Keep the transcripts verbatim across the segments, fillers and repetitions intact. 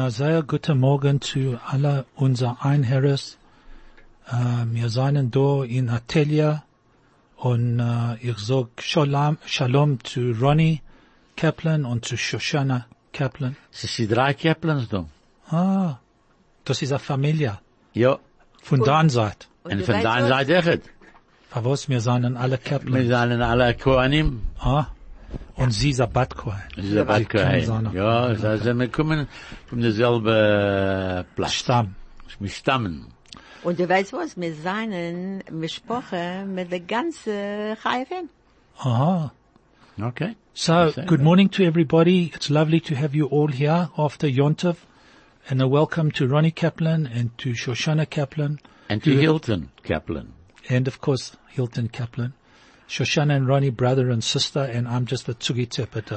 Na, sehr guten Morgen zu alle unser Einherres. Uh, wir sind da in Atelier und uh, ich sag Shalom, Shalom zu Ronnie Kaplan und zu Shoshana Kaplan. Es sind drei Kaplans da. Ah, das ist eine Familie. Ja. Von deiner Seite. Und von deiner Seite echt. Aber was, wir sind alle Kaplan. Wir sind alle Kohanim. Ah. Und sie ist ein Bat Kohen. Sie ist ein Bat Kohen. Ja, also wir kommen von derselben Platz. Stamm. Wir stammen. Und du weißt was, wir sind besprochen mit der ganzen Chayefim. Aha. Okay. So, good morning to everybody. It's lovely to have you all here after Yontov. And a welcome to Ronnie Kaplan and to Shoshana Kaplan. And to Hilton Kaplan. And of course, Hilton Kaplan. Shoshana and Ronnie, brother and sister, and I'm just a Tzugi Tepeta.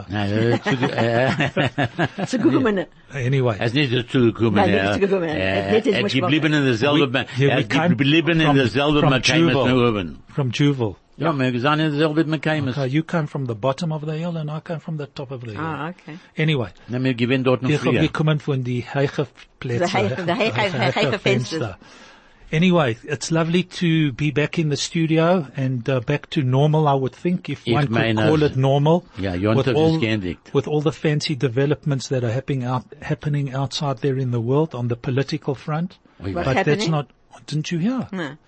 Anyway. Er ist nicht zugekommen. Er ist geblieben in derselben, er ist geblieben in derselben Mekaimes. From Juval. Ja, wir sind in derselben Mekaimes. Okay, you come from the bottom of the hill and I come from the top of the hill. Ah, okay. Anyway. Na, wir gewinnen dort noch früher. Ich habe gekommen von die heiche Plätze. Die heiche Fenster. Anyway, it's lovely to be back in the studio and uh, back to normal, I would think, if one could call it normal. Yeah, Yontov is gendigt. With all the fancy developments that are happening out, happening outside there in the world on the political front. What's but happening? That's not, didn't you hear? No.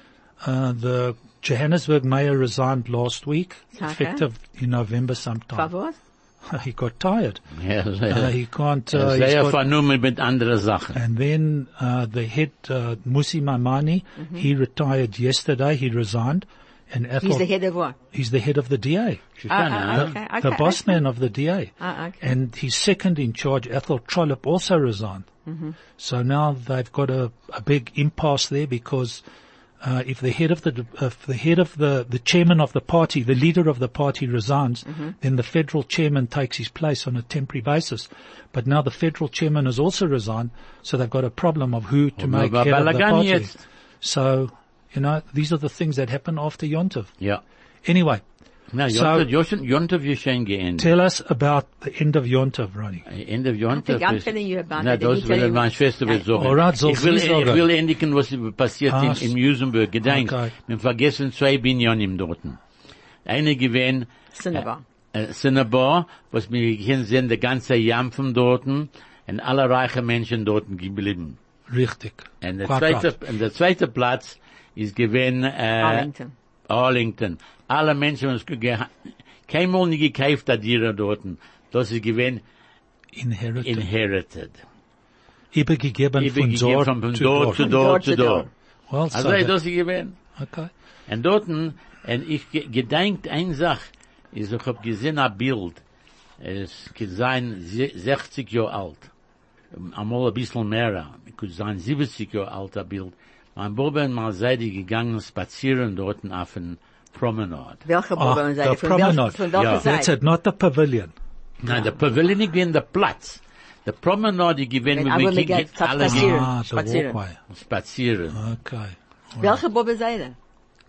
Uh, the Johannesburg mayor resigned last week, Okay. effective in November sometime. For what? He got tired. Ja, Uh, he can't, uh, he's sehr got- vernommen mit anderen Sachen. And then uh, the head, uh, Musi Mamani, Mm-hmm. he retired yesterday. He resigned, and Ethel, He's the head of what? he's the head of the D A, Ah, ah, okay, okay. the boss okay. man of the D A. Ah, okay. And his second in charge, Ethel Trollop, also resigned. Mm-hmm. So now they've got a, a big impasse there because uh, if the head of the if the head of the the chairman of the party, the leader of the party resigns, Mm-hmm. then the federal chairman takes his place on a temporary basis. But now the federal chairman has also resigned, so they've got a problem of who to make aber head of the Balagan party. jetzt. So, you know, these are the things that happen after Yontov. Ja. Anyway, Na, So- Yontov, Yontov ist schön geendet. tell us about the end of Yontov, Ronnie. End of Yontov. I'm ist- telling you about Na, it. das Let me tell will you. meine Schwester will sagen. Alright, soll ich will, sie sagen. ich will endigen, was passiert Ah, in, in Musenburg. Gedenk, okay. wir vergessen zwei Binyonim dorten. Eine gewesen, Cinnabar. äh, Cinnabar, was wir hier sehen, der ganze Jampfen dorten, und alle reiche Menschen dorten geblieben. Richtig. Und der Quite zweite, right. und der zweite Platz ist gewesen, äh, Arlington. Arlington. Alle Menschen, was geha- keinmal nie gekauft hat, die dorten. Das ist gewesen, Inherited. inherited. Übergegeben von Übergegeben dort von zu dort dort. zu Von dort dort zu zu dort. dort. Well, Also, so that- das ist gewesen. okay. Und dorten, und ich ge- gedenkt ein Sach, ist, ich hab gesehen ein Bild, es kann sein se- sechzig Jahre alt, einmal ein bisschen mehr, es kann sein siebzig Jahre alt ein Bild. Mein Bruder und meine Seite gegangen spazieren dorten auf den Promenade. Welche Ah, Bobbern the seid ihr? Von promenade. welcher, von welcher Ja. That's Seite? it, not the pavilion. Nein, der Pavilion ist gewesen der Platz. Der Promenade ist gewesen, Aber wo wir wir gehen ge- alle spazieren. Ah, the Spazieren. walkway. spazieren. Okay. Welche Bobbern seid ihr?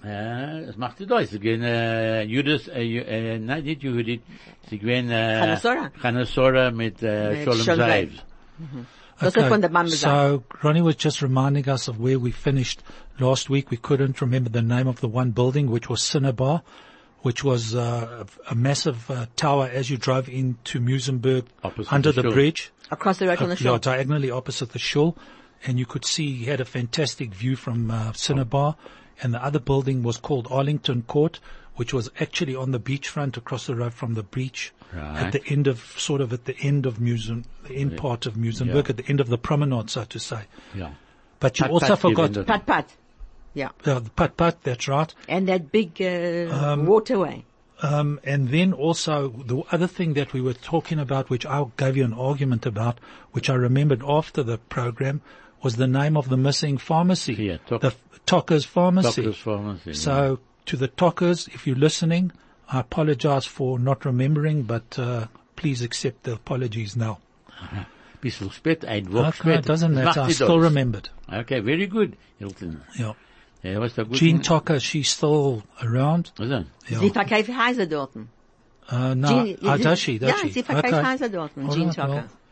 Ja, das macht die Deutsch. Sie gehen, äh, Judas, äh, Ju- äh, nein, nicht Judith, sie gehen, äh, Chanasora. Chanasora mit, äh, Mit Sholem Sholem Zayv. Zayv. Das ist von der Mama so Ronnie was just reminding us of where we finished last week. We couldn't remember the name of the one building, which was Cinnabar, which was uh, a massive uh, tower as you drove into Musenberg Opposite under the the shul. bridge. Across the road from Uh, the yeah, shore. diagonally opposite the shul, and you could see he had a fantastic view from uh, Cinnabar. And the other building was called Arlington Court, which was actually on the beachfront across the road from the beach, Right. at the end of sort of at the end of Musen, the end part of Musenberg, Yeah. at the end of the promenade, so to say. Ja. But you Pat- also Pat forgot given Pat Pat. Yeah. uh, the Pat Pat. That's right. And that big uh, waterway. Um, and then also the other thing that we were talking about, which I gave you an argument about, which I remembered after the program, was the name of the missing pharmacy, Yeah, Tok- the Tockers Pharmacy. Doctor's Pharmacy. So to the Tockers, if you're listening, I apologize for not remembering, but uh, please accept the apologies now. Bisschen spät, ein Woche Okay, spät. it doesn't Das matter. macht I die still Deutsch. remembered. Okay, very good, Hilton. Yeah. Ja, was da gut. Jean Tocker, she's still around. Also, Yeah. Sie verkauft Häuser dort. Uh, no, Jean- ah, does she? Does Ja, she? sie verkauft Okay. Häuser dort. All Jean right, Tucker. well,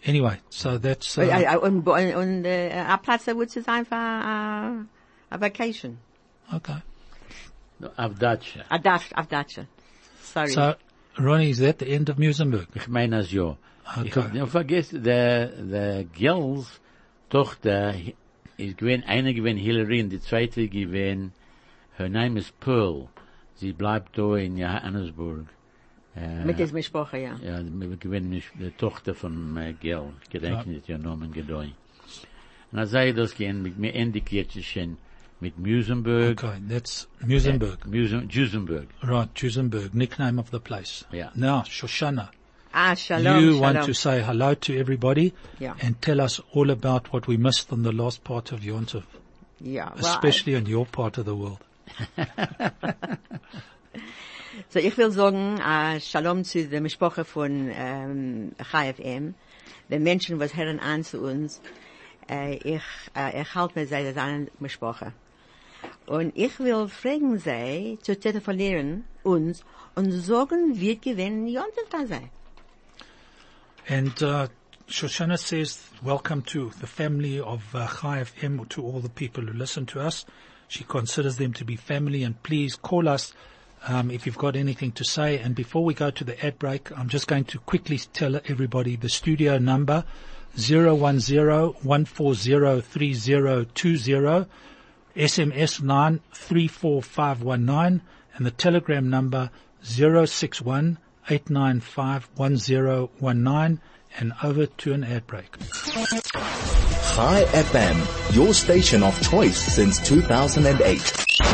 Anyway, so that's, uh, Uh, Und, und, und äh, ein Platz, wo es einfach äh, a vacation. okay. Auf Dutch. A Dach, auf Datsche. Sorry. So, Ronnie, is that the end of Musenberg? Ich meine es ja. Okay. Ich hab nicht vergessen, der, der Girls Tochter ist gewesen, eine gewesen Hillary und die zweite gewesen, her name is Pearl. Sie bleibt da in Johannesburg. Äh, Mit diesem Sprache, ja. Ja, wir gewinnen nicht die Tochter von äh, Girl. Ich gedenke nicht ihr Namen gedei. Und dann sage ich das gehen, mit mir endig jetzt schon mit Musenberg. Okay, that's Musenberg. Äh, Musen, Duesenberg. Right, Duesenberg, nickname of the place. Yeah. Now, Shoshana, Ah, shalom, you shalom. want to say hello to everybody Yeah. and tell us all about what we missed on the last part of Yom Tov, Ja, well, especially on your part of the world. So, ich will sagen, äh, Shalom zu der Sprache von ähm, Chai F M. Die Menschen, was hören an zu uns, äh, ich, äh, ich halte mir sehr an der Sprache. Und ich will fragen sie, zu telefonieren uns und sagen, wie gewinnen Jontef da sei. And uh, Shoshana says, welcome to the family of uh, Chai F M, to all the people who listen to us. She considers them to be family, and please call us um, if you've got anything to say. And before we go to the ad break, I'm just going to quickly tell everybody the studio number, zero one zero, one four zero, three zero two zero, S M S nine three four five one nine, and the telegram number zero six one, eight nine five, one zero one nine, and over to an ad break. Chai F M, your station of choice since two thousand eight.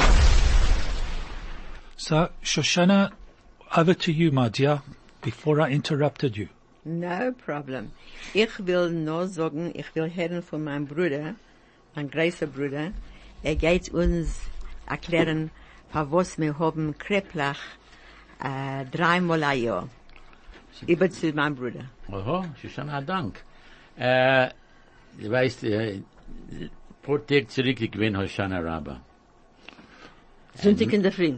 So, Shoshana, over to you, my dear, before I interrupted you. No problem. Ich will nur sagen, ich will hören von meinem Bruder, mein großer Bruder. Er geht uns erklären, für was wir haben Kreplach äh, dreimal ein Jahr. Über zu meinem Bruder. Oho, Shoshana, Dank. Äh, du weißt, äh, pro Tag zurück, ich bin Hoshana Rabbah. Sonntag in der Früh.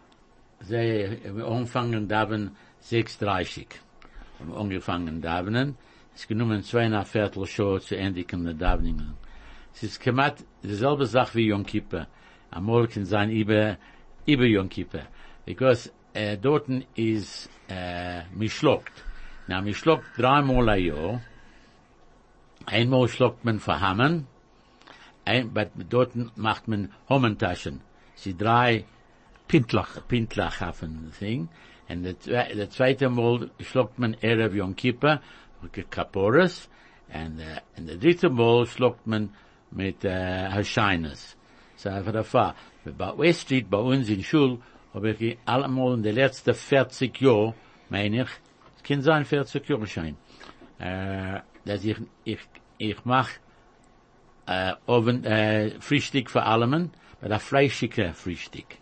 Sie haben angefangen daven sechs Uhr dreißig. Haben angefangen davenen. Es ist genommen zweieinhalb Viertel Show zu endigen der Daveningen. Es ist gemacht dieselbe Sache wie Yom Kippur. Amol kann sein über, über Yom Kippur. Because, äh, dorten ist, äh, mischlockt. Na, mischlockt dreimal ein Jahr. Einmal schluckt man für Hammen. Ein, but dorten macht man Hommentaschen. Sie drei Pintlach. Pintlach haben Ding. Und der, der zweite Mal schluckt man Erev Yom Kippur, Kaporas. Und, äh, und der dritte Mal schluckt man mit, äh, Hashaines. So einfach der Fall. Bei West Street, bei uns in Schul, habe ich allemal in den letzten vierzig Jahren, meine ich, es kann sein vierzig Jahre sein, äh, dass ich, ich, ich mach, äh, Oven, äh, Frühstück für allemen, bei der fleischige Frühstück.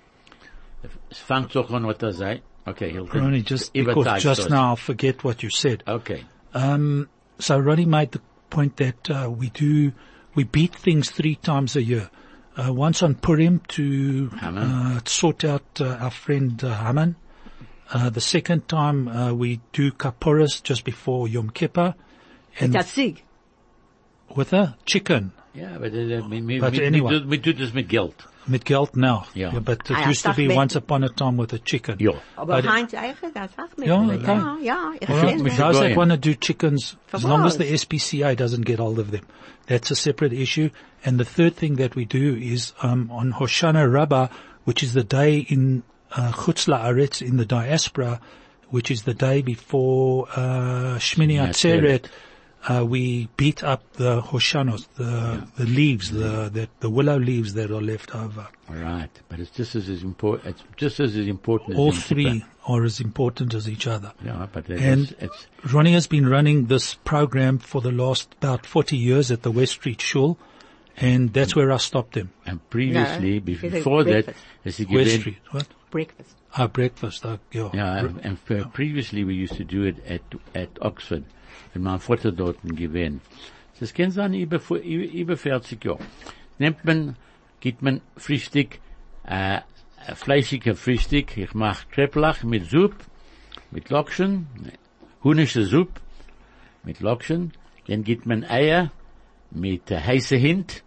Es fängt doch an, was er sagt. Okay, Hilton. Ronnie, just because just now I forget what you said. Okay. Um, so Ronnie made the point that uh, we do, we beat things three times a year. Uh, once on Purim to uh, sort out uh, our friend uh, Haman. Uh, the second time uh, we do Kaporas just before Yom Kippur. Mit der Zieg. With a chicken. Yeah, but, uh, we, we, But we, anyway. we, do, we do this with Geld. Mit Geld now. Yeah. Yeah, but it Ah, ja, used to sag be mir- once upon a time with a chicken. Ja. Aber But- Heinz Eicher, das sagt mir. Ja, Ja, okay. ja, ja, ich All right. kenne we das. should Those go that in. want to do chickens, as For long as what? the S P C A doesn't get hold of them, that's a separate issue. And the third thing that we do is um, on Hoshana Rabbah, which is the day in uh, Chutz La'aretz, in the diaspora, which is the day before uh, Shmini Atzeret, uh, we beat up the Hoshanos, the Yeah. the leaves, the, the the willow leaves that are left over. All right. But it's just as important, it's just as important All as Yom three Kippur. are as important as each other. Yeah, but it's, And it's, Ronnie has been running this program for the last about forty years at the West Street Shul, and that's where I stopped him. and previously, No, it's a before that, breakfast. as he West given, Street, what? Breakfast. Ah, breakfast, uh, yeah. yeah, and, and uh, previously we used to do it at, at Oxford, when mein Vater dort gewesen. Das kann sein über, über, über vierzig Jahre. Nimmt man, gibt man Frühstück, äh, fleischiger Frühstück, ich mach Kreplach mit Suppe, mit Lokschen, hunische Suppe, mit Lokschen, dann gibt man Eier mit äh, heiße Hint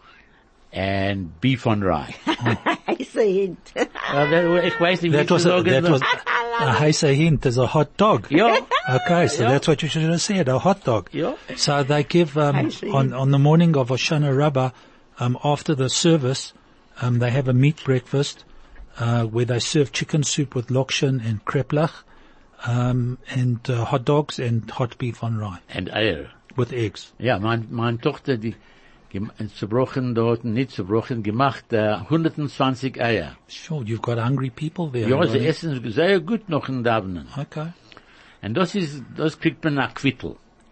and beef on rye. Heiße Hint. Well, that, ich weiß nicht, wie That was zu a, sagen. that was a heißer hint is a hot dog. Ja. Okay, so Yeah. that's what you should have said, a hot dog. Yeah. So they give, um, Heißer on, hint. on the morning of Hoshana Rabbah, um, after the service, um, they have a meat breakfast, uh, where they serve chicken soup with lokshen and kreplach, um, and uh, hot dogs and hot beef on rye And Eier. with eggs. Ja, mein, mein Tochter, die, gem- zerbrochen dort, nicht zerbrochen, gemacht, äh, hundertzwanzig Eier. Sure, you've got hungry people there. Ja, sie right? essen sehr gut noch in Davenen. Okay. Und das ist, das kriegt man nach Quittel.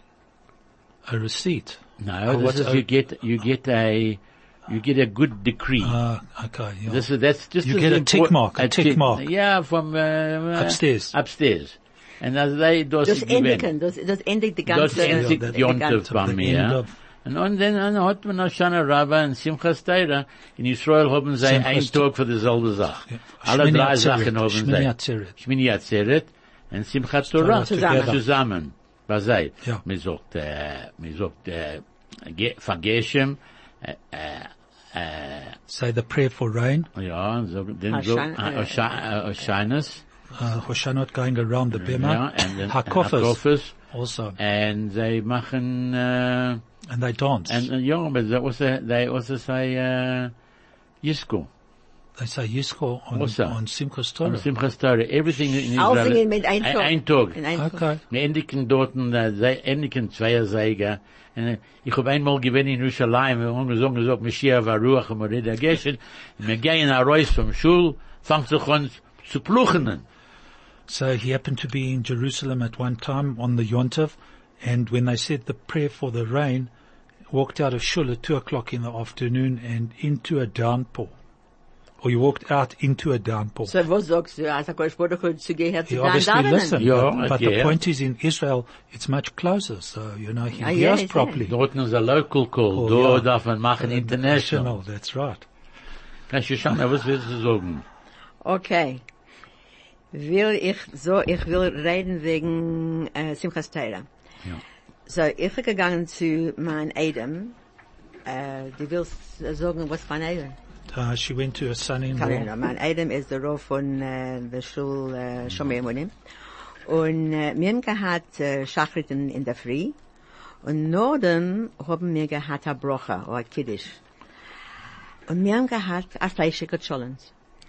A receipt. No, Oh, this what's is, a- you get, you get a, you get a good decree. Uh, okay, yeah. This is, that's just You as get a import- tick mark, a tick tick- mark. Yeah, from, uh, Upstairs. Upstairs. And as they, das Das ist endigen, das, das endigt die ganze... Das endigt Ja, die Jontef ganze- bei the mir. end ja. of- Und, und dann, dann hat man Hoshana Rabbah und Simchas Torah. In Israel haben sie Simchas einen Tag für dieselbe Sache. Ja. Alle Shmini drei Atzeret, Sachen haben Shmini sie. Atzeret. Shmini Atzeret und Simchat Torah. Zusammen. Zusammen. Was sei? Ja. Man sagt, äh, man sagt, äh, ge- Vergeshem, äh, äh, äh, Say the prayer for rain. ja, so, dann so, Hashan- äh, Oshanas. Uh, Hoshanot going around the Bema. Ja, and then Hakofas Hakofas. also. And they machen, äh, And they dance. and, uh, ja, but that was a, they also say, uh, Yisco. they say Yisro on, Also. on Simchas On Torah. Simchas Torah. Everything in Israel. Alles in mit ein Ein- Tag. Ein Tag. In ein Tag. Okay. Wir endigen dort, äh, sei- endigen Zweierseiger. Und, äh, ich hab einmal gewesen in Jerusalem, wir haben gesagt, gesagt, Mashiach war Ruach und Morida Geshen. Und wir gehen raus vom Schul, fangt sich an zu pluchenen. So he happened to be in Jerusalem at one time on the Yontiv, and when they said the prayer for the rain, walked out of shul at two o'clock in the afternoon and into a downpour. Or he walked out into a downpour. So, was sagst du, als HaKadosh Baruch Hu zu gehört He zu obviously deinen listened, Ja, but, but the yeah. point is in Israel, it's much closer, so, you know, he Ah, yeah, hears yeah. properly. Dort ist ein Local Call. Oh, Dort ja. darf man machen International. That's right. Kannst du schauen, was willst du sagen? Okay. Will ich so, ich will reden wegen äh, Simchas Torah. Ja. So, ich bin gegangen zu mein Adam. Äh, du willst äh, sagen, was mein Adam? Uh, she went to her son-in-law. Kann ich noch. Mein Adam ist der Rauf von äh, der Schule äh, Shomer Emunim. Und äh, wir haben gehabt äh, Schachrit in, in der Früh. Und nach dem haben wir gehabt ein Brocha, oder ein Kiddush. Und wir haben gehabt ein fleischiger Challenge.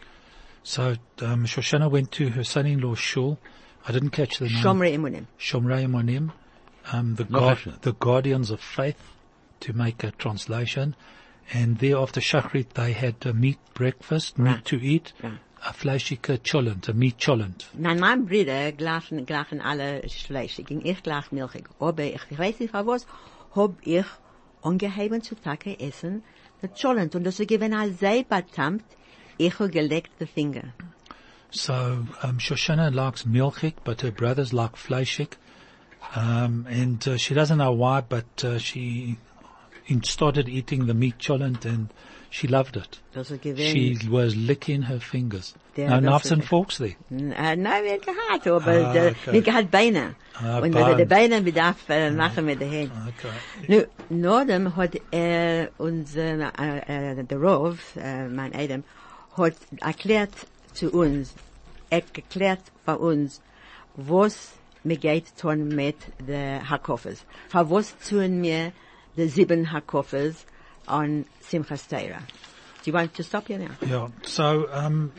So, um, Shoshana went to her son-in-law's shul. I didn't catch the name. Shomer Emunim. Shomrei Monim, um, the, No guard, question. the guardians of faith, to make a translation. And there after Shachrit, they had a meat breakfast, meat Right. to eat, Right. a fleischige cholent, a meat cholent. Nein, meine Brüder gleichen, gleichen alle fleischig. Und ich gleich milchig. Aber ich weiß nicht, was, hab ich angeheben zu Tage essen, der Cholent. Und das ist gewesen als selber tamt, ich hab gelegt the finger. So, um, Shoshana likes milchig, but her brothers like fleischig. Um, and uh, she doesn't know why, but uh, she in- started eating the meat cholent and she loved it. Das ist She gewesen, was licking her fingers. Der- No das knives ist- and forks there. äh, nein, wir gehabt, aber Ah, der, okay. wir gehabt Beine. Ah, Und wenn wir die Beine. Beine bedarf, äh, machen wir die Hände. Okay. Nu, Nordem hat er uns, äh, äh, der Rov, äh, mein Adam, hat erklärt zu uns, er erklärt bei uns, was mir geht tun mit den Hakofes. Für was tun mir die sieben Hakofes on Simchas Torah? Do you want to stop here now? Yeah. So, um,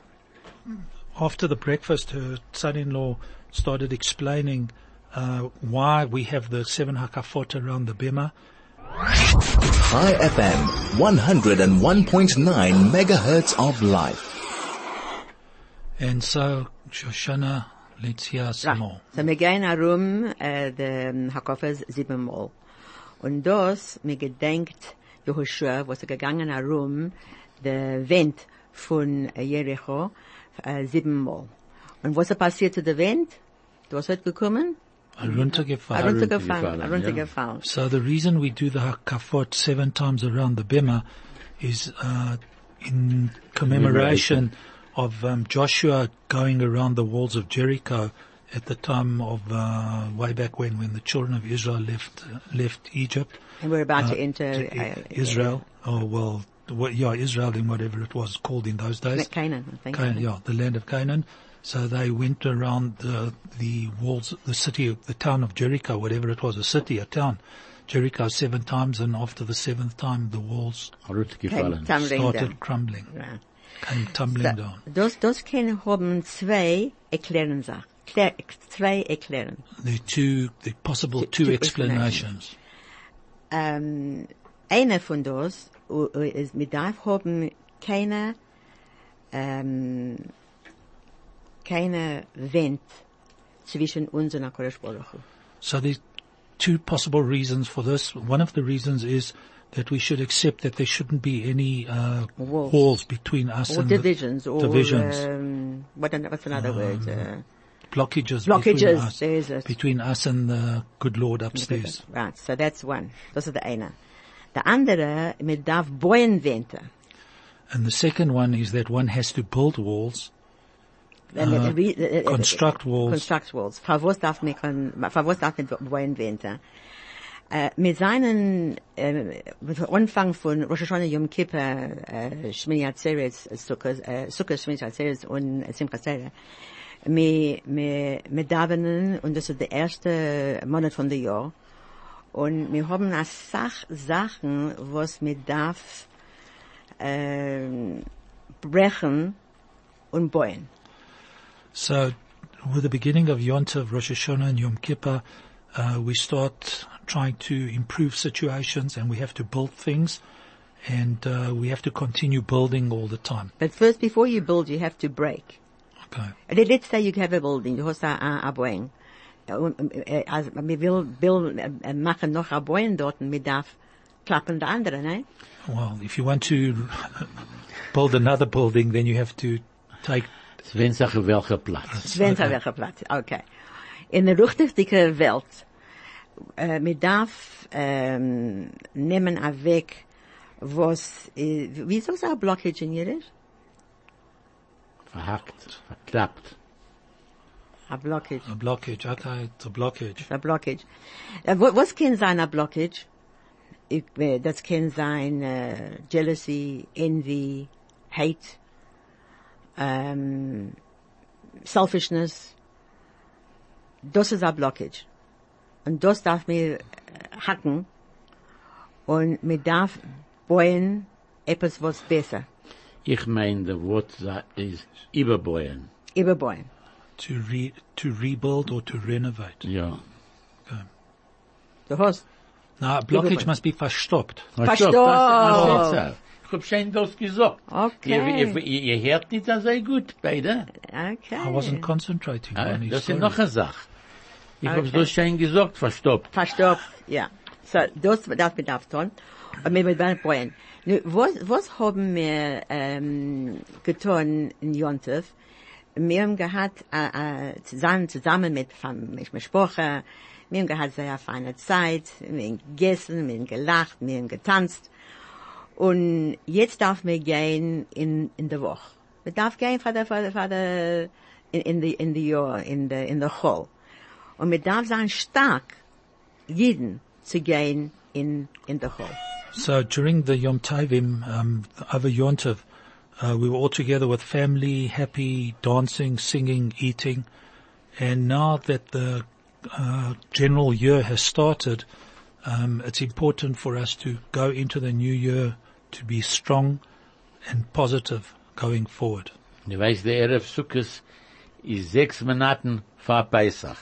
after the breakfast, her son-in-law started explaining uh, why we have the seven hakafot around the bema. High F M, one oh one point nine megahertz of life. And so, Shoshana, let's hear some more. So wir gehen herum, äh, den Hakofes siebenmal. Und das, mir gedenkt, Jehoshua, was er gegangen herum, der Wind von Jericho, äh, siebenmal. Und was er passiert zu der Wind? Was hat gekommen? Heruntergefallen. Heruntergefallen, ja. heruntergefallen. So the reason we do the hakafot seven times around the bema is uh, in commemoration of um, Joshua going around the walls of Jericho at the time of, uh, way back when, when the children of Israel left, uh, left Egypt. And we're about uh, to enter to uh, Israel. Oh, well, what, yeah, Israel in whatever it was called in those days. Canaan, I think. Canaan, yeah, the land of Canaan. So they went around the, the walls, the city, the town of Jericho, whatever it was, a city, a town, Jericho seven times, and after the seventh time, the walls Gefallen. tumbling started down. crumbling, Ja. came tumbling So, down. das, das können haben zwei erklären Sachen. Klär, zwei erklären. The two, the possible Two- two, two explanations. Ähm, einer von das uh, uh, ist, wir darf haben keine, ähm, keine Wind zwischen uns und HaKadosh Baruch Hu. So there's two possible reasons for this. One of the reasons is that we should accept that there shouldn't be any uh, Walls. walls between us Or and divisions, the or, divisions, um, what, an- what's another word? Uh, blockages, blockages, between us, there is it. between us and the good Lord upstairs. Right, so that's one. Das ist der eine. Der andere, man darf bauen Wände. And the second one is that one has to build walls, Äh, re- äh, äh, construct walls. Construct walls. Für was darf man, kon- für was darf man bauen Wände? Äh, mit seinen, äh, mit dem Anfang von Rosh Hashanah, Yom Kippur, äh, Shmini Atzeres, Sukkot, äh, Sukkot, Shmini Atzeres und Simchas Torah, wir, wir, wir davenen, und das ist der erste Monat von dem Jahr, und wir haben eine Sach Sachen, was wir darf, äh, brechen und bauen. So, with the beginning of Yom Tov, Rosh Hashanah and Yom Kippur, uh, we start trying to improve situations, and we have to build things, and uh, we have to continue building all the time. But first, before you build, you have to break. Okay. Let- Let's say you have a building, du hast ein Boeing. Also, wir will, will äh, machen noch ein Boeing dort, und wir darf klappen der andere, ne? Well, if you want to build another building, then you have to take. Wenn Sache welcher Platz. Sven okay. Welcher Platz, okay. In der richtigen Welt, äh, wir darf ähm, nehmen ein Weg, was, äh, wie soll es ein Blockage in Jiddisch? Verhackt, verklappt. Ein Blockage. A blockage, okay, it's a blockage. Ein Blockage. Äh, wo- was kann sein ein Blockage? Ich, äh, das kann sein äh, Jealousy, Envy, Hate, ähm, Selfishness. Das ist ein Blockage. Und das darf mir äh, hacken. Und mir darf bauen etwas, was besser. Ich meine, der Wort sa- ist überbauen. Überbauen. To re, to rebuild or to renovate. Ja. Okay. Du hast. Now, a blockage Überbauen. must be verstoppt. Verstopft. Ich hab schon das gesagt. Okay. Ihr, ihr, ihr hört nicht so sehr gut, beide. Okay. I wasn't concentrating Ah, on it. das ist sorry. noch eine Sache. Ich Okay. hab's das schon gesagt, verstopft. Verstopft, ja. So, das darf man darf tun. Und wir werden bauen. Nu, was, was haben wir, ähm, getan in Jontef? Wir haben gehabt, äh, äh, zusammen, zusammen mit, mit Besprochen, wir haben gehabt sehr feine Zeit, wir haben gegessen, wir haben gelacht, wir haben getanzt. Und jetzt darf man gehen in, in der Woche. Man darf gehen für der, für der, für der, in, in the, in the Jahr, in the, in the Hall. Und man darf sein stark, jeden zu gehen in, in der Hall. So during the Yom Tovim, um, over Yom Tov, uh, we were all together with family, happy, dancing, singing, eating. And now that the uh, general year has started, um, it's important for us to go into the new year to be strong and positive going forward. Du weißt, der Erev Sukkos ist sechs Monaten vor Pesach.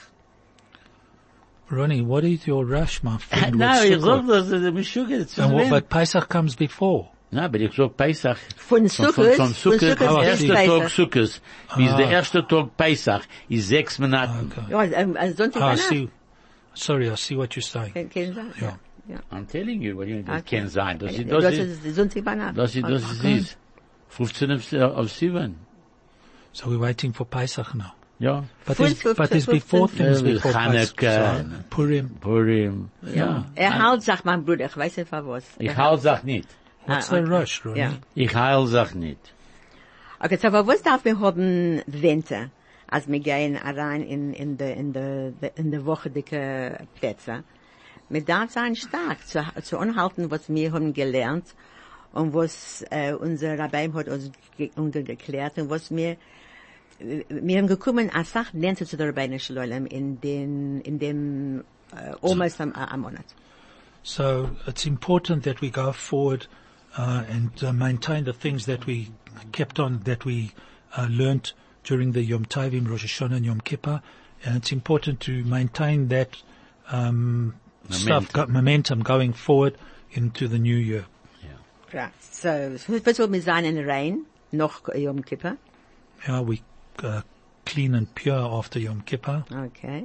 Ronnie, what is your rush, my friend? No, with ich Sukkot? sag das, das ist Mischuge, das And what, ist but Pesach comes before. Na, aber ich sag Pesach. Von Von, Sukkot, von, von von Sukkot, Sukkot der bis erste Pesach. Tag Sukkos, bis Ah. der erste Tag Pesach, ist sechs Monaten. Okay. Ja, ähm, äh, Sonntag Ah, I danach. see. Sorry, I see what you're saying. Kann- kann sein, Ja. ja. I'm telling you, what you, das Okay. kann sein. Das ist, Das das ist, ist Sonntag danach. das ist, das ist, ist. fünfzehn auf, auf sieben. So we're waiting for Pesach now. Ja. But there's, Fünf- but there's fünfzehn- before things Äh, before Pesach. Chanukah. So, Purim. Purim. Ja. Er halt, sagt mein Bruder, ich weiß nicht für was. Ich Er heil sag nicht. What's Ah, the okay. rush, Ronnie? Ja. Ich heil sag nicht. Okay, so, aber was darf man haben Winter? als wir gehen rein in, in der, in der, in der Woche dicke Plätze. Wir darf sein stark zu, zu anhalten, was wir haben gelernt und was, äh, unser Rabbi hat uns ge, geklärt und was wir, wir haben gekommen, als Sache lernt zu der Rabbeinu Shalom in den, in dem, uh, almost am, am Monat. So it's important that we go forward uh, and uh, maintain the things that we kept on, that we uh, learnt during the Yom Tovim, Rosh Hashanah and Yom Kippur, and it's important to maintain that um, momentum. stuff, go, momentum going forward into the new year. Yeah. Right. So, first of all, wir sein in Rain, noch Yom Kippur. Yeah, we uh, clean and pure after Yom Kippur. Okay.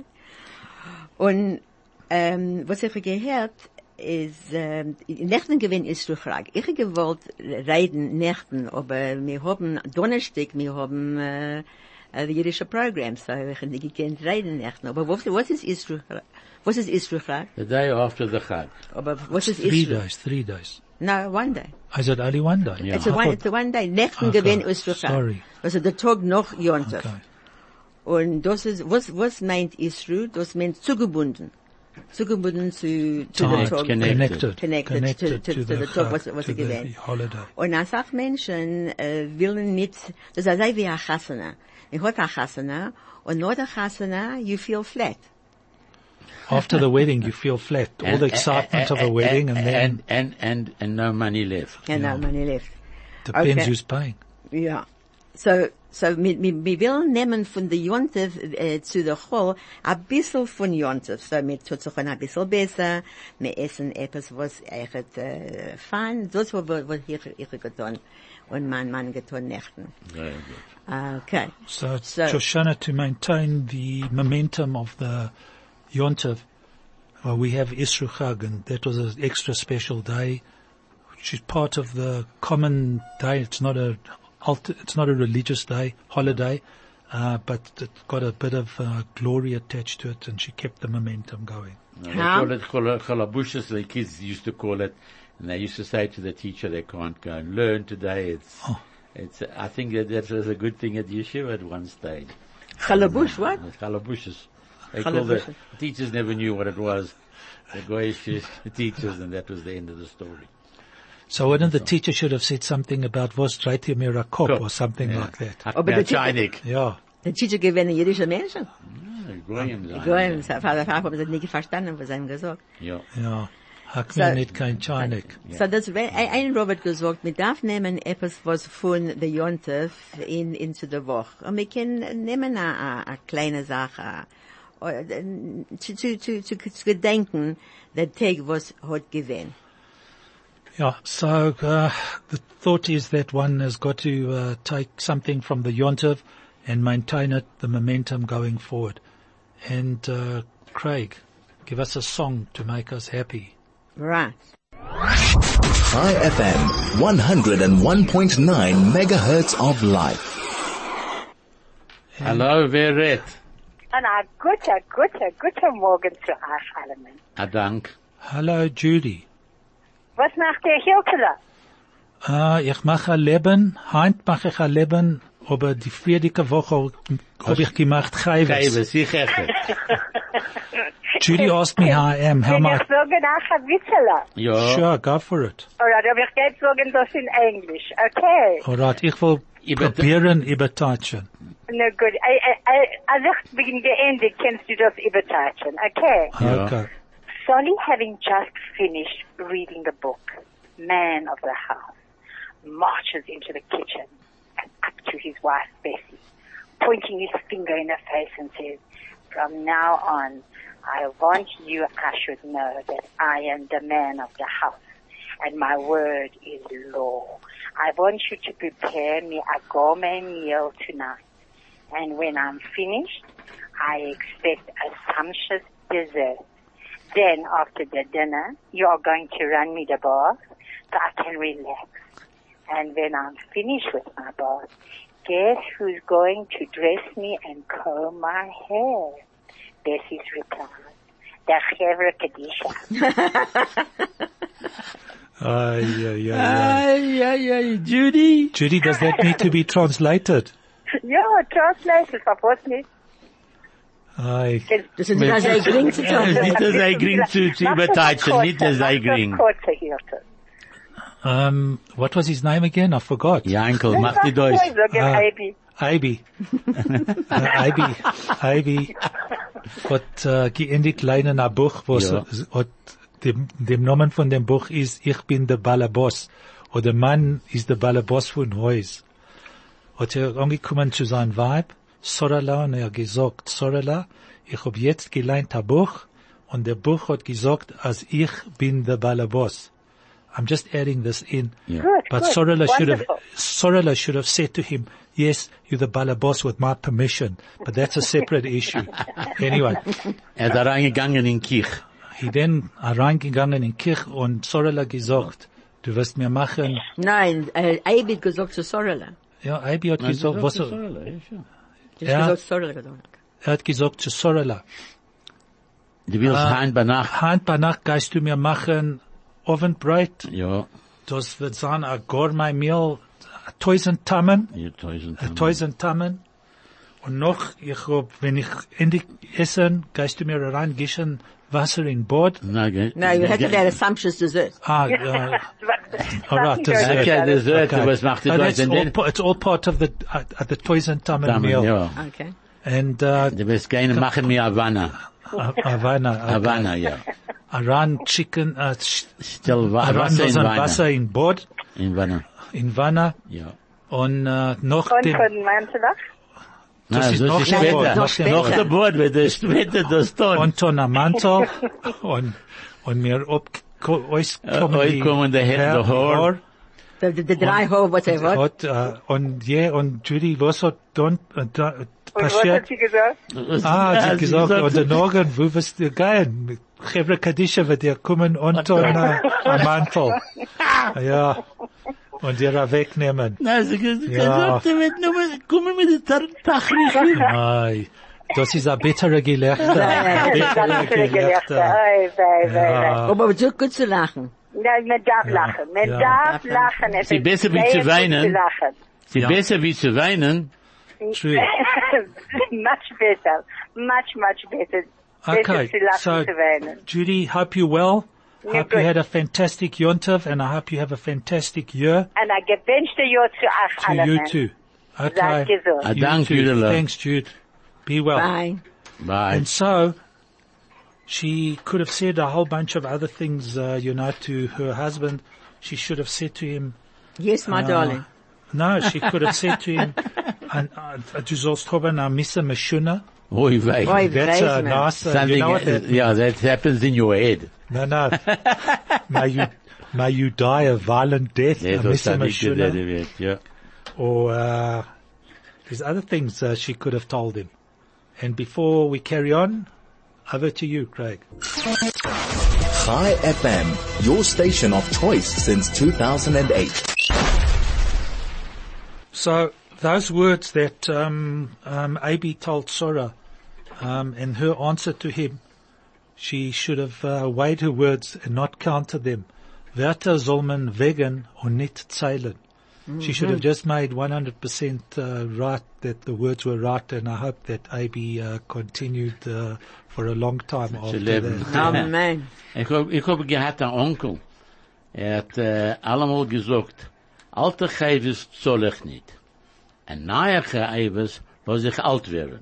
Und, ähm, was ich gehört, ist, ähm, Nächten gewinn ist Ruchrag. Ich habe gewollt reden Nächten, aber wir haben Donnerstag, wir haben, äh, äh, jüdische Programme, so ich habe nicht gekannt reden Nächten. Aber was, was ist Isruchrag? Was ist Isruchrag? The day after the Chag. Aber was ist Three Isruchrag? days, three days. No, one day. Is it only one day? Yeah. It's a I one, thought- it's a one day. Nächten Okay, gewinn ist Ruchrag. sorry. Also der Tag noch Jontef. Okay. Und das ist, was, was meint Isru? Das meint zugebunden. Zugebunden zu, zu Time, der Tag. connected. connected, Connected, to, to, to, the, the Tag, was, Chag, was to sie the gewähnt. holiday. Und als auch Menschen, äh, willen nicht, das ist also wie ein Chasana. Ich hatte ein Chasana, und nach der Chasana, you feel flat. After the wedding, you feel flat. All the excitement of a wedding, and then and, and, and, and no money left. Genau, man lebt. depends okay. who's paying. Ja. So, so, wir, wir, wir wollen nehmen von der Jontef, äh, zu der Chol, ein bisschen von Jontef. So, wir tut sich ein bisschen besser, wir essen etwas, was echt, äh, fein, das was, was ich, ich getan, und mein Mann getan Nächten. Very good. Okay. So it's So- Shoshana to maintain the momentum of the Yontiv. Well, we have Isru Chag, and that was an extra special day, which is part of the common day. It's not a, alter, it's not a religious day, holiday, uh, but it got a bit of uh, glory attached to it, and she kept the momentum going. No, How? They call it chol- cholabushas, the kids used to call it, and they used to say to the teacher they can't go and learn today. It's, Oh. it's, I think that that was a good thing at yeshiva at one stage. Chalabush, what? It's cholabushas. They called it, Chalabushas. the teachers never knew what it was. The goyish teachers, and that was the end of the story. So wouldn't the teacher should have said something about was Reiti Mirakop or something Yeah. like that? Aber der Chainik. Yeah. Der Teacher gewinnen jüdische Menschen. Goyim. Goyim, Vater, Vater, haben sie nicht verstanden, was sie haben gesagt. Yeah. Yeah. Hakmi So- nicht kein Chainik. So das, ein, ein Robert gesagt, wir darf nehmen etwas, was von der Jontef in, in zu der Woche. Und wir können nehmen eine, eine kleine Sache, äh, zu, zu, zu, zu, zu gedenken, der Tag, was hat gewinnt. Yeah, so uh, the thought is that one has got to uh, take something from the Yontiv and maintain it, the momentum going forward. And uh, Craig, give us a song to make us happy. Right. High F M, one oh one point nine megahertz of life. Hello, Veret. Und ein guter, guter, guter Morgen zu euch allen. Adank. Hello, Judy. Was macht der Hilkele? Uh, ich mache Leben, heint mache ich ein Leben, aber die friedige Woche habe ich gemacht Chayves. Kaiwe, sicher. Judy asked me how I am, how Wenn my... ich sagen, ach, ein Witzele. Ja. Sure, go for it. Alright, aber ich geht sagen das in Englisch. Okay. Alright, ich will Über- probieren übertatschen. Na gut. I- I- I- Als ich bin geendet, kannst du das übertatschen. Okay. Ja. Okay. Solly, having just finished reading the book, Man of the House, marches into the kitchen and up to his wife, Bessie, pointing his finger in her face and says, from now on, I want you, I should know that I am the man of the house, and my word is law. I want you to prepare me a gourmet meal tonight, and when I'm finished, I expect a sumptuous dessert. Then, after the dinner, you are going to run me the bath so I can relax. And when I'm finished with my bath, guess who's going to dress me and comb my hair? Bessie's reply, the Chevra Kadisha. Ay, ay, ay, ay. Ay, ay, ay, Judy. Judy, does that need to be translated? Ja, translation, verpasst nicht. Ay, Das ist nicht sehr gering zu Nicht, tun. dass er gering zu, zu überteilen, nicht, dass er gering. Kurze Hilfe. um, what was his name again? I forgot. Jankel, mach die Deutsch. Ah. Baby. Ivy. uh, Ivy. Ivy. Hat uh, geendigt leider ein Buch, was Ja. hat dem, dem Namen von dem Buch ist Ich bin der Ballerboss. Oder der Mann ist der Ballerboss von Haus. Hat er angekommen zu seinem Weib, Sorala, und er hat gesagt, Sorala, ich hab jetzt gelernt ein Buch, und der Buch hat gesagt, als ich bin der Ballerboss. I'm just adding this in. Yeah. Good, But good. Sorala should have, Wonderful. Sorala should have said to him, yes, you're the Ballerboss with my permission, but that's a separate issue. Anyway, Er ist da reingegangen in Kirch. he then reingegangen in Kirch und Sorala gesagt, du wirst mir machen, Nein, äh, Eib hat gesagt zu Sorala. ja, Abi hat gesagt, was er, Das Ja. hat gesagt Sorala gesagt. er hat gesagt zu Sorala, Du willst Ah. heim bei Nacht? Hand bei Nacht gehst du mir machen Ovenbrot, Ja, das wird sein a gourmet meal, a tausend Tammen, hier tausend. a tausend Tammen, und noch, ich hab, wenn ich endlich essen, gehst du mir reingischen Wasser in Bord, Na, ge- Nein, wir hätten ge- ein sumptuous dessert. ah, uh, all right, dessert. Okay, Dessert, Okay. was macht die Uh, Deutsch? that's Und all, dann- pa- it's all part of the, uh, uh, the tausend Tammen Damen, meal. ja. Okay. And, uh, Du wirst gerne machen mir Havana. Havana, okay. Havana, ja. Aran chicken, uh, sh- Still wa- Aran Wasser in so ein Wanne. Wasser in Bord, In Wanne, in Wanne, ja. und, uh, noch Und dem, von Mantelach? Das Na, ist so noch ist später. später. Noch später. Noch der Bord wird es später das tun. und on a Mantel, und, und mir ob, ko- euch kommen euch die kommen die Hä- Haar- die Haar. Haar. Die, die, die drei Hohe, was er hat. Hat, äh, und ja, und Judy, was hat dann, äh, da, Und was passiert? hat sie gesagt? Ah, sie Ja, hat gesagt, sagt- und der Morgen, wo wirst du gehen? Chevre Kadisha wird dir kommen und on a, a Mantel. Ja. Und dir wegnehmen. Na, sie Ja. gesagt, er wird nur mit, kommen mit der Tachrich. Ei, das ist ein bitterer Gelächter. Ja, ja, Das ist ganz viele Gelächter. Ei, wei, wei, wei. Ja. Aber so gut zu lachen. Nein, man darf lachen. Man Ja. darf lachen. Es Sie ist besser wie sehr zu gut weinen. zu lachen. Sie Ja. besser wie zu weinen. True. Much better. Much, much better. Okay, Besser zu lachen, so zu weinen. Judy, hope you're well. Yeah, Hope you good. had a fantastic Yontav, and I hope you have a fantastic year. Und ein gewünschte Jahr zu euch To allen. you too. Okay. Seid gesund. Ah, You danke, too. Judela. Thanks, Jude. Be well. Bye. Bye. And so, she could have said a whole bunch of other things, uh, you know, to her husband. She should have said to him, Yes, my uh, darling. no, she could have said to him, and, uh, du sollst haben a Missa Meshuna. Oi, wei. Oi, That's a weiß man. nice, uh, you Something, know what that uh, yeah, that happens in your head. No, no. may you, may you die a violent death, Yeah, a das Missa hab ich gedacht, Meshuna. wird, ja. Or, uh, there's other things uh, she could have told him. And before we carry on, over to you, Craig. Chai F M, your station of choice since two thousand eight. So those words that um, um, Abi told Sora, um, and her answer to him, she should have uh, weighed her words and not counted them. Wörter soll man wägen und nicht zählen. She should have just made one hundred percent uh, right that the words were right, and I hope that Abi uh, continued uh, for a long time after leben. that. Amen. Ich hab, ich hab gehabt einen Onkel. Er hat äh, allemal gesagt, alte Chaiwes soll ich nicht. Ein neuer Chaiwes muss ich alt werden.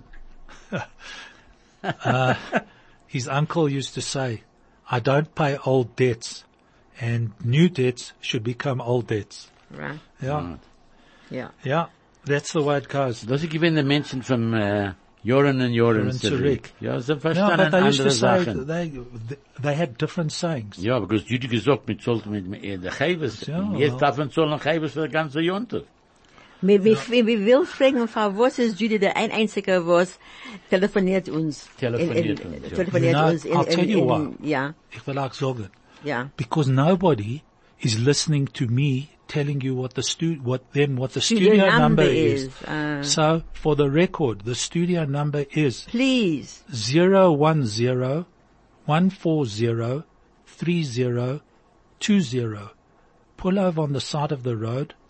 His uncle used to say, I don't pay old debts, and new debts should become old debts. Right. Yeah, Yeah. yeah, that's the way it goes. Das ich gewinne Menschen von äh, Jahren und Jahren Jahren zurück. zurück. Ja, sie No, verstanden but they used andere to say Sachen. they they had different sayings. Ja, because du hast gesagt, mit sollte mit mit der Chaiwes. Ja. Jetzt darf man sollen Chaiwes für die ganze Jonte. Wir, wir, wir will fragen, Frau, was ist Judy der ein einziger, was telefoniert uns? Telefoniert in, in, uns, ja. telefoniert You know, uns in, I'll tell in, you in, why. ja, Ich will auch sagen, ja. because nobody is listening to me telling you what the stu what them what the Studio studio, number number is, is. uh, So for the record, the studio number is Please. zero one zero one four zero three zero two zero. Pull over on the side of the road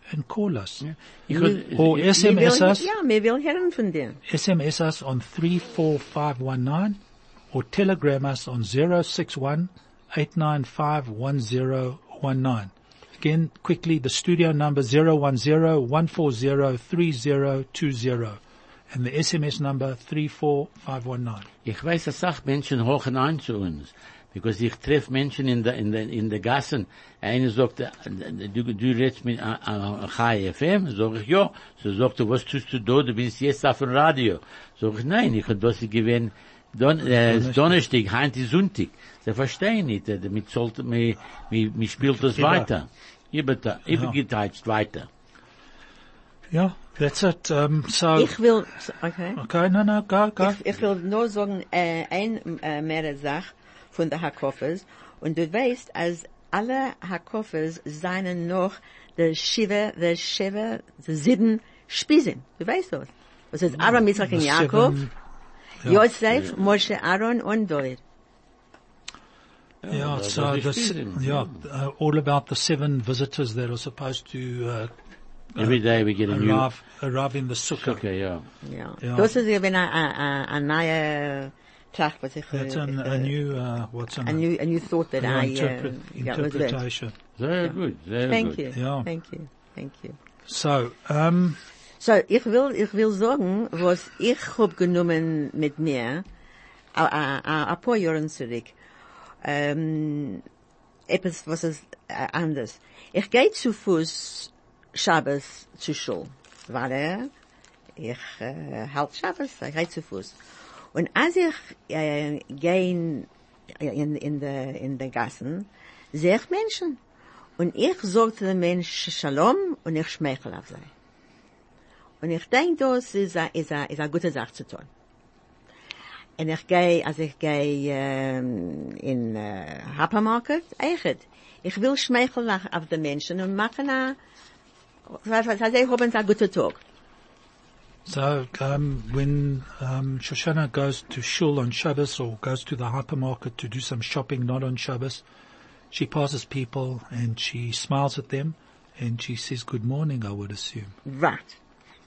and call us. Ich Wir- hab- Or ich- S M S Wir will- us, Ja, wir will hören von dir. S M S us on three four five one nine or telegram us on zero six one eight nine five one zero one nine. Again, quickly, the studio number zero one zero one four zero three zero two zero and the S M S number three four five one nine. Ich weiß, dass auch Menschen hochen ein zu uns. Because ich treffe Menschen in der, in der, in der Gassen. Einer sagt, äh, du, du redest mit äh, äh, Chai F M? Sag ich, ja. So sagt er, was tust du da? Du bist jetzt auf dem Radio. Sag ich, nein, ich hab das gewähnt, Don, äh, Donnerstag, heute ist Sonntag. Sie verstehen nicht, äh, mit sollte, mir, mir, mir spielt das Über- weiter. Über, übergeteilt weiter. Yeah, that's it. Um, so, Ich will, okay. okay, no, no, go, go. Ich, ich will nur sagen, äh, ein, äh, mehr Sache von der Hakofes. Und du weißt, als alle Hakofes seien noch der Shiva, der Shiva, der sieben Spießen. Du weißt das. Das ist Aaron, Yitzchak und The Jakob, seven- ja. Yosef, Moshe, Aaron und David. Yeah, das so ist the, s- Spießen. yeah, uh, all about the seven visitors that are supposed to, uh, Every day we get a new, arrive, arrive in the sukkah. okay, ja. Ja. Ja. Das ist eben eine, eine, eine neue Tracht, was ich, That's an, äh, a new, uh, what's an, a new, a new thought that yeah, I, interpret, uh, yeah, was learned. interpretation. Sehr gut, sehr Thank gut. you. Ja. Thank you. Thank you. So, um, So, ich will, ich will sagen, was ich hab genommen mit mir, a, a, a, a paar Jahren zurück, ähm, etwas, was ist äh, anders. Ich gehe zu Fuß Shabbos zur Schule, weil ich äh, halt Shabbos, ich gehe zu Fuß. Und als ich äh, gehe in, in, in der in der Gassen, sehe ich Menschen. Und ich sage zu den Menschen Shalom und ich schmeichel auf sie. Und ich denke, das ist eine, ist eine, ist eine gute Sache zu tun. Und ich gehe, also ich gehe ähm, in äh, Hypermarket, echt. Ich will schmeicheln auf, auf die Menschen und machen eine, was heißt, ich habe einen guten Tag. so, um, when, um, Shoshana goes to shul on Shabbos or goes to the hypermarket to do some shopping not on Shabbos, she passes people and she smiles at them and she says good morning, I would assume. Right.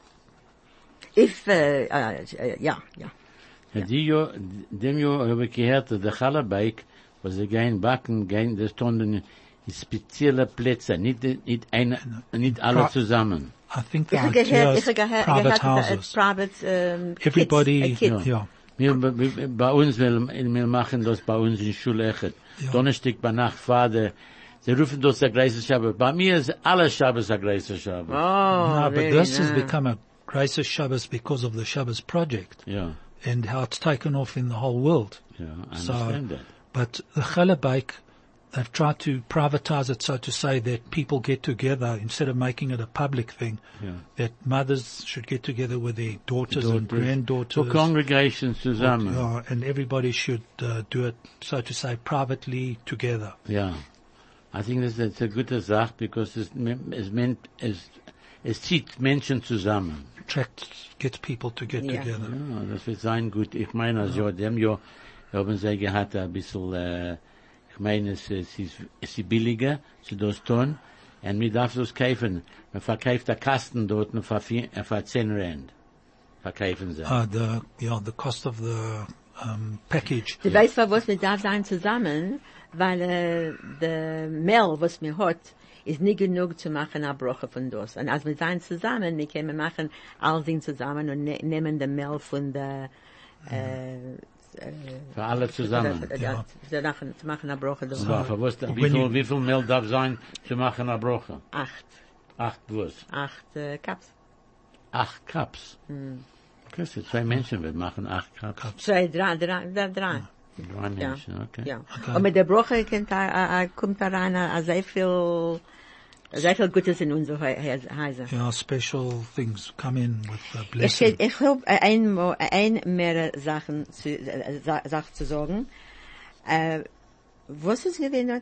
If, äh, äh, äh, ja, ja. Ja, die jo, dem jo habe ich gehört, der Chalabaik, wo sie gehen backen, gehen, das tun in spezielle Plätze, nicht, nicht eine, nicht alle Pra- zusammen. I think the Ich habe idea gehört, is ich habe gehört, private gehört, äh, houses. private, ähm, Everybody, kids, äh, kids. yeah. Wir, wir, bei uns, wir, wir machen das bei uns in Schule echt. Ja. Donnerstag bei Nacht, Vater, sie rufen das der Greise Shabbat. Bei mir ist alle Shabbos der Greise Shabbat. Oh, no, but very this has nice. become a Grace Shabbos because of the Shabbos project Ja, and how it's taken off in the whole world. ja, I So, understand that. but the Chalabaik, they've tried to privatize it so to say that people get together instead of making it a public thing, Ja. that mothers should get together with their daughters, and Daughters. granddaughters. So congregations zusammen. Yeah, and everybody should uh, do it, so to say, privately together. Ja. I think that's, that's a gute Sache, because es, es, meant, es, es zieht Menschen zusammen. Attract, gets people to get Yeah. together. Ja, das wird sein gut. Ich meine, also, dem Jahr haben sie gehabt ein bisschen, äh, ich meine, es, es ist, es ist billiger, zu das tun, und man darf das kaufen. Man verkauft der Kasten dort nur für, vier- äh, für zehn Rand. Verkaufen sie. Uh, the, yeah, the cost of the um, package. Du weißt, was wir da sein zusammen, weil äh, der Mehl, was mir hat, ist nicht genug zu machen, eine Broche von das. Und als wir sein zusammen, wir können machen all Dinge zusammen und ne nehmen den Mehl von der, äh, äh, Für alle zusammen. ja, zu machen, zu machen eine Broche. Das Ja, für was, wie When viel, you- wie viel Mehl darf sein, zu machen eine Broche? acht, Acht was? acht äh, Cups. Acht Cups. Okay, so zwei Menschen wird machen acht Cups. Zwei, drei, drei, drei, drei. Drei Ja, Menschen, okay. ja. Okay. Und mit der Broche kommt da, äh, kommt da rein, äh, sehr viel, sehr viel Gutes in unsere Häuser. Yeah, special things come in with the Ich, blessing. ich habe ein, mo- ein mehr Sachen zu, äh, Sa- Sachen zu sagen. Äh, was ist gewesen?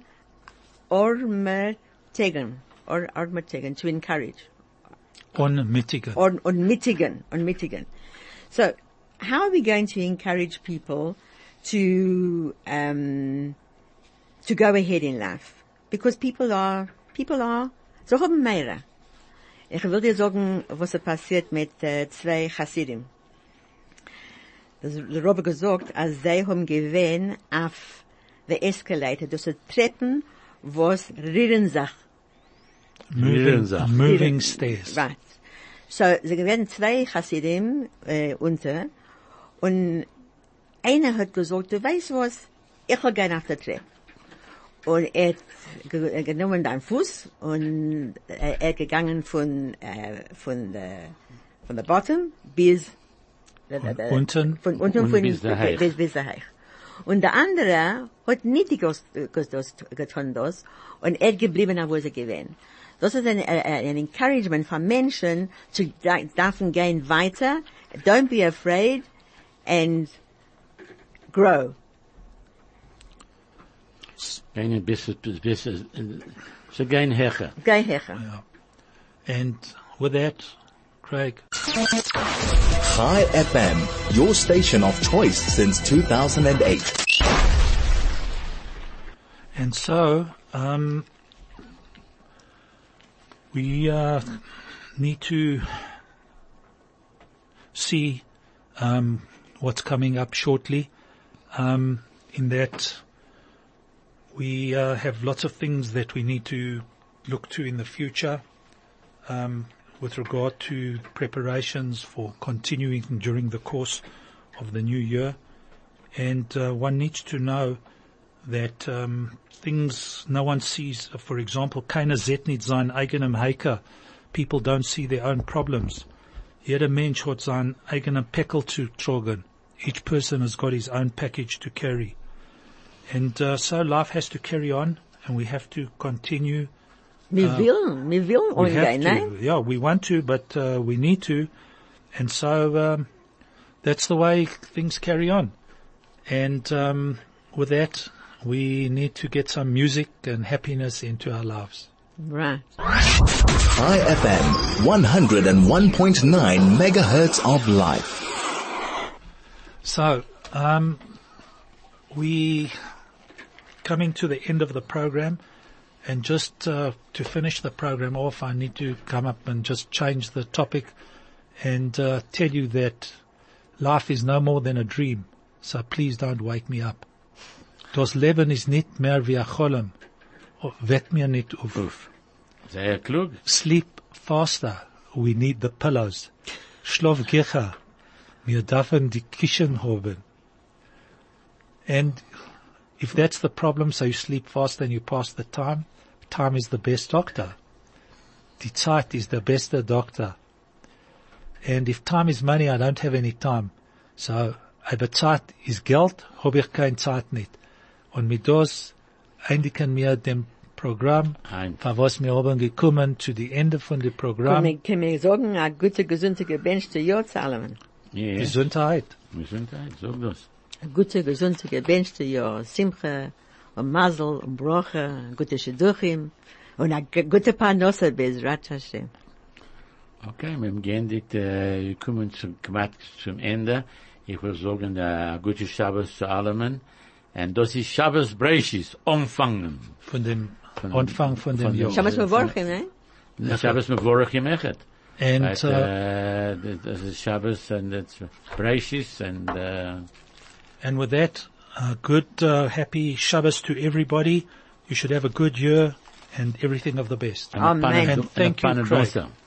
Ormertegen. Or, Ormertegen, to encourage. On Michigan. Or, on mitigen, on mitigen. So, how are we going to encourage people to, um, to go ahead in life? Because people are, people are, so haben mehr. Ich will dir sagen, was ist passiert mit äh, zwei Chassidim. Das der Robbe gesagt, als sie haben gewähnt auf der Escalator, das sind Treppen, was rühren sich. Moving, Moving, moving stairs. Right. So, sie gewähnt zwei Chassidim äh, unter, und einer hat gesagt, du weißt was, ich will gehen auf der Treppe. Und er hat ge äh, genommen deinen Fuß und äh, er hat gegangen von, äh, von der, von der Bottom bis, äh, Von äh, unten. von unten Und von, bis daheim. bis, bis daheim. Und der andere hat nicht getas- getas- getan das und er hat geblieben, wo sie gewesen. Das ist ein, ein, ein Encouragement von Menschen zu dürfen gehen weiter. Don't be afraid and grow. Gehen bis, bis, bis, äh, so gehen hecher. Geh her. And with that, Craig, Chai F M, your station of choice since two thousand eight. and so, um, we, uh, need to see, um, what's coming up shortly, um, in that we, uh, have lots of things that we need to look to in the future, um, with regard to preparations for continuing during the course of the new year. And uh, one needs to know that um, things no one sees. For example, keiner sieht nicht sein eigenem Heiker. People don't see their own problems. Jeder Mensch hat sein eigenem Päckel zu tragen. Each person has got his own package to carry. And uh, so life has to carry on, and we have to continue. Wir will, wir will We have umgehen, to, nein? yeah, we want to, but uh, we need to. And so um, that's the way things carry on. And um, with that, we need to get some music and happiness into our lives. Right. Chai F M, one oh one point nine megahertz of life. So, um, we coming to the end of the program, and just uh, to finish the program off, I need to come up and just change the topic and uh, tell you that life is no more than a dream. So please don't wake me up. Das Leben ist nicht mehr wie ein Cholem. Weck mir nicht auf. Uff. Sehr klug. Sleep faster. We need the pillows. Schlaf gecher. Wir dürfen die Kissen haben. And if that's the problem, so you sleep faster and you pass the time, time is the best doctor. Die Zeit is the best doctor. And if time is money, I don't have any time. So, aber Zeit is Geld, habe ich keine Zeit nicht. Und mit das eindigen wir dem Programm, Ein. von was wir haben gekommen zu die Ende von dem Programm. Können wir, können wir sagen, eine gute, gesunde Gebench zu Jahr zahlen. Ja, ja. Gesundheit. Gesundheit, sag das. Eine gute, gesunde Gebench zu Jahr, Simche, und Mazel, und Broche, gute Shidduchim, und eine g- gute Parnasse, Bezrat Hashem. Okay, wir haben geendigt, äh, wir kommen zum, knapp zum Ende. Ich will sagen, äh, gute Shabbos zu allen. Und das ist Shabbos Breishis, umfangen. Von dem Von- Anfang von dem von dem- Jahr. Shabbos Mevorchim, ne? Shabbos Mevorach Yemechet. And Right, uh, uh, das ist Shabbos and it's Breishis and, uh, and with that, uh, good, uh, happy Shabbos to everybody. You should have a good year and everything of the best. and a Amen. Panad- And thank you, and a Craig. Panadosa.